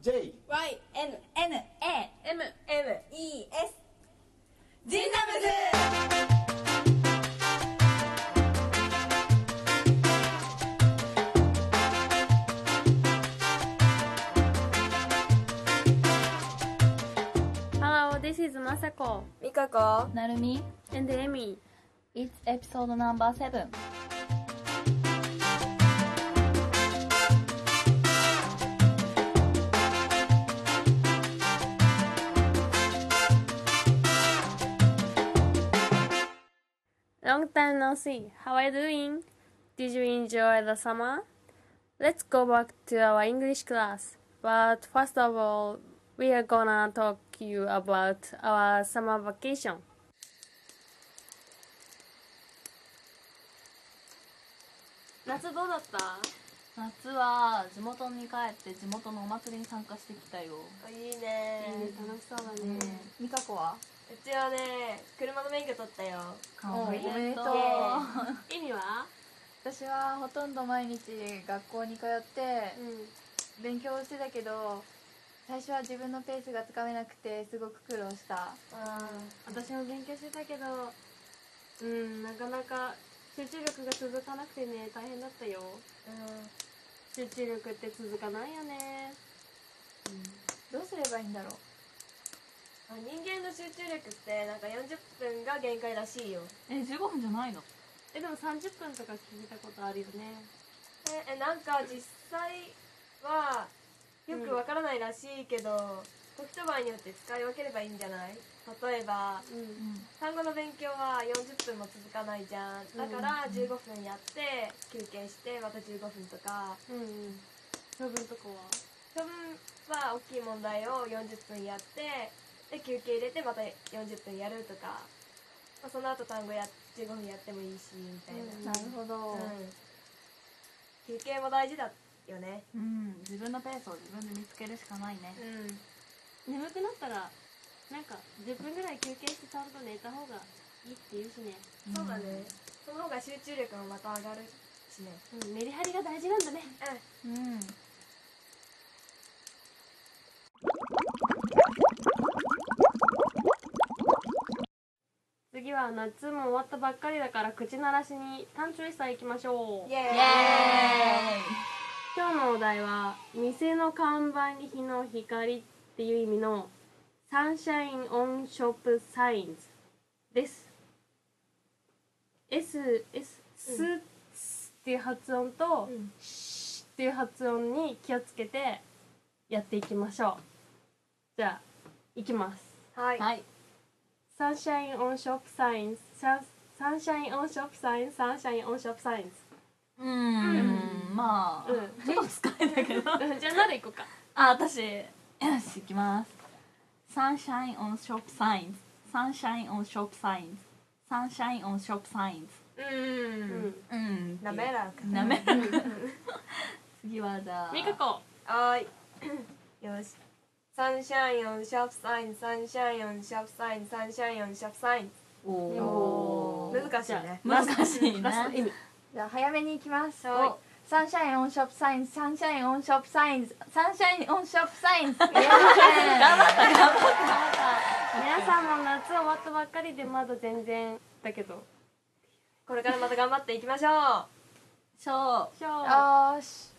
J Y N N A M M E S ジンダムズ。 Hello, this is Masako みかこ。 なるみ and Emi. It's episode number 7. Long time no see. How are you doing? Did you enjoy the summer? Let's go back to our English class. But first of all, we are gonna talk you about our summer vacation. 夏どうだった？ 夏は地元に帰って地元のお祭りに参加してきたよ。 いいね。 楽しそうだね。 みかこはうちはね、車の免許取ったよ。 おめでとう。 意味は？ 私はほとんど毎日学校に通って勉強してたけど、最初は自分のペースがつかめなくてすごく苦労した。 私も勉強してたけど、なかなか集中力が続かなくてね、大変だったよ。集中力って続かないよね。 どうすればいいんだろう。 人間の集中力ってなんか40分が限界らしいよ。 15分じゃないの？ でも30分とか聞いたことあるよね。 なんか実際はよくわからないらしいけど、時と場合によって使い分ければいいんじゃない？例えば、単語の勉強は40分も続かないじゃん。だから15分やって休憩してまた15分とか。 処分とかは？ 処分は大きい問題を40分やってで休憩入れてまた40分やるとか、その後単語15分やってもいいしみたいな。 なるほど。 休憩も大事だよね。 自分のペースを自分で見つけるしかないね。 眠くなったらなんか10分ぐらい休憩してちゃんと寝た方がいいって言うしね。 そうだね。その方が集中力もまた上がるしね。 メリハリが大事なんだね。次は夏も終わったばっかりだから口鳴らしに単調さ行きましょう。 イエーイ。 今日のお題は店の看板に日の光っていう意味のサンシャインオンショップサインズです。スっていう発音とシっていう発音に気をつけてやっていきましょう。じゃあいきます。 はい。 サンシャインオンショップサインズ、サンシャインオンショップサインズ、サンシャインオンショップサインズ。 まあ、ちょっと使えたけど。 じゃあ何でいこうか。 私、よし、いきます。Sunshine on shop signs. Sunshine on shop signs. Sunshine on shop signs. 滑らか。 滑らか。次はじゃあ。 みかこ。 はい。よし。サンシャインオンショップサイン、サンシャインオンショップサイン、サンシャインオンショップサイン。難しいね。 難しいね。 ラスト意味。 じゃあ早めに行きます。 はい。 サンシャインオンショップサインズ、サンシャインオンショップサインズ、サンシャインオンショップサインズ。頑張った。 皆さんも夏終わったばっかりでまだ全然だけど、 これからまた頑張っていきましょう。 そう。 よーし。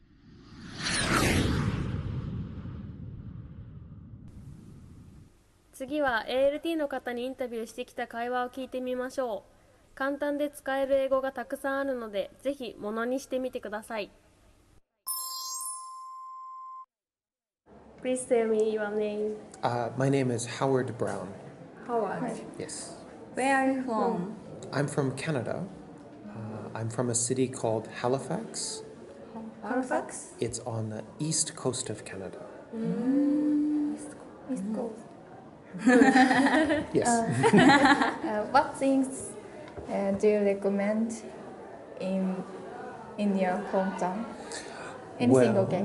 次は ALT の方にインタビューしてきた会話を聞いてみましょう。簡単で使える英語がたくさんあるので、ぜひものにしてみてください。Please tell me your name. My name is Howard Brown. Howard. Yes. Where are you from? I'm from Canada. I'm from a city called Halifax. Halifax? It's on the east coast of Canada. East Coast. Yes. What things do you recommend in your hometown? Anything okay?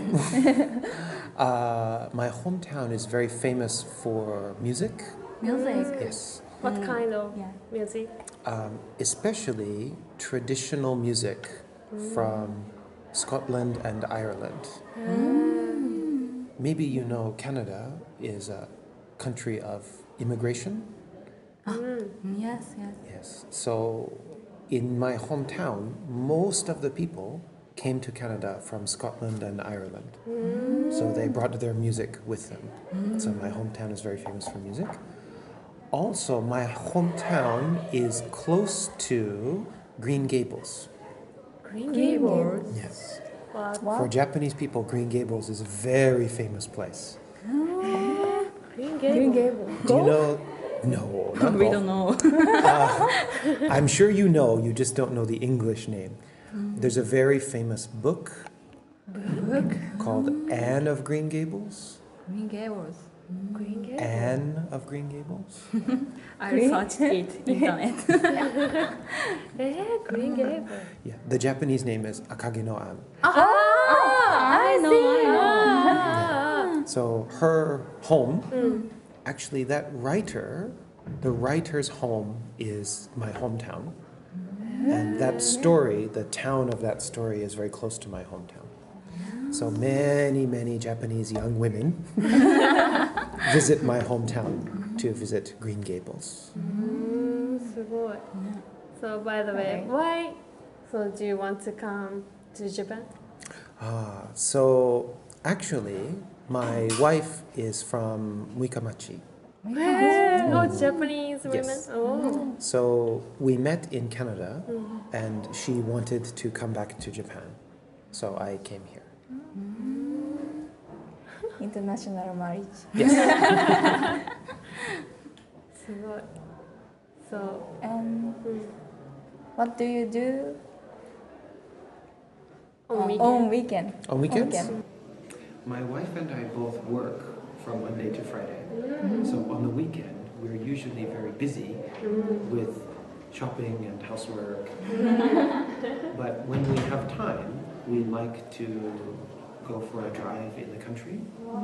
My hometown is very famous for music. Music. Yes. What kind of music? Especially traditional music from Scotland and Ireland. maybe you know Canada is a country of immigration. Yes, yes. Yes. So in my hometown, most of the people came to Canada from Scotland and Ireland. So they brought their music with them. So my hometown is very famous for music. Also, my hometown is close to Green Gables. Green Gables. Yes. What? For Japanese people, Green Gables is a very famous place. Green Gables. Do you know? No, not We golf. don't know. I'm sure you know, you just don't know the English name. There's a very famous book called Anne of Green Gables. Green Gables. Green Gables. Anne of Green Gables. I searched it internet. Green Gables. Yeah, the Japanese name is Akage no Anne. I know. So her home, actually that writer, the writer's home is my hometown. And that story, the town of that story is very close to my hometown. So many, many Japanese young women visit my hometown to visit Green Gables. すごい。So by the way, why? So do you want to come to Japan? So actually, my wife is from Muikamachi. Oh, Japanese women. Yes. Oh. So we met in Canada, and she wanted to come back to Japan. So I came here. International marriage. Yes. すごい。So. And what do you do On on weekend? On weekends? Weekend. My wife and I both work from Monday to Friday. So on the weekend, we're usually very busy with shopping and housework. But when we have time, we like to go for a drive in the country.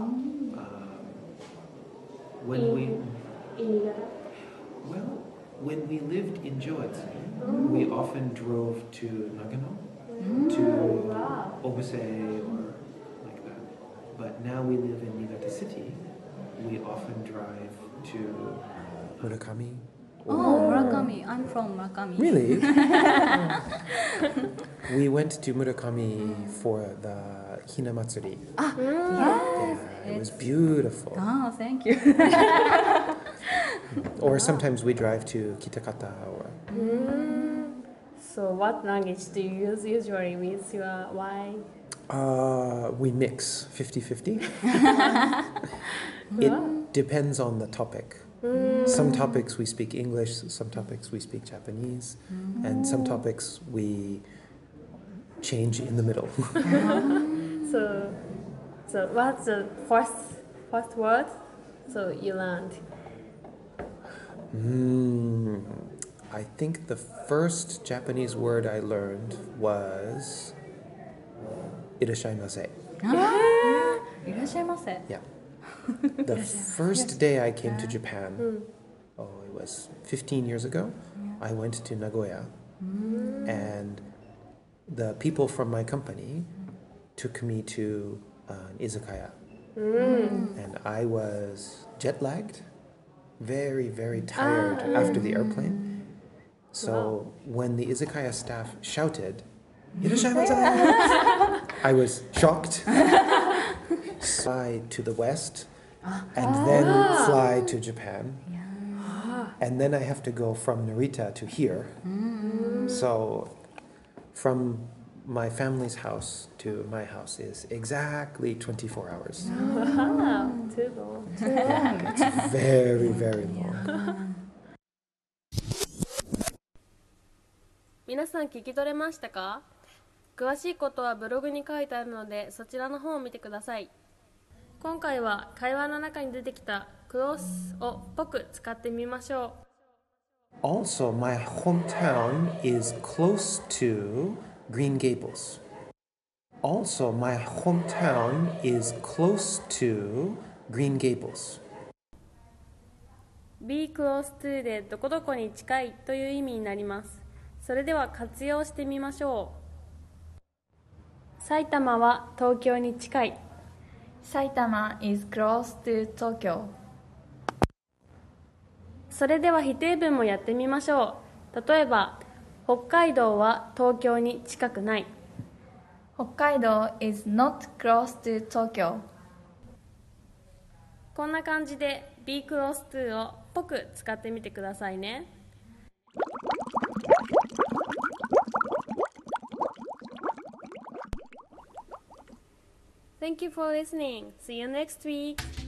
When we lived in Joetsu, we often drove to Nagano, to Obuse or like that. But now we live in Niigata City, we often drive to Murakami. Oh, Murakami. I'm from Murakami. Really? We went to Murakami for the Hina Matsuri. Yeah, it was beautiful. Oh, thank you. Or sometimes we drive to Kitakata or So what language do you use usually with your wife? we mix 50-50. It depends on the topic. Some topics we speak English, some topics we speak Japanese, and some topics we change in the middle. So what's the first word? So you learned. I think the first Japanese word I learned was irashaimase. いらっしゃいませ。 Yeah. The first day I came to Japan, it was 15 years ago, I went to Nagoya, and the people from my company took me to an izakaya. And I was jet lagged, very, very tired after the airplane. So when the izakaya staff shouted, "Irashaimase!" I was shocked. Fly to the west, and then fly to Japan. And then I have to go from Narita to here. So from my family's house to my house is exactly 24 hours. Wow, too long. It's very, very long. 皆さん聞き取れましたか？詳しいことはブログに書いてあるのでそちらの方を見てください。今回は会話の中に出てきたクロスをっぽく使ってみましょう。 Also, my hometown is close to Green Gables. Also, my hometown is close to Green Gables. Be close to でどこどこに近いという意味になります。それでは活用してみましょう。埼玉は東京に近い。 埼玉 is close to Tokyo. それでは否定文もやってみましょう。例えば、北海道は東京に近くない。 北海道 is not close to Tokyo. こんな感じで be close to をっぽく使ってみてくださいね。Thank you for listening. See you next week.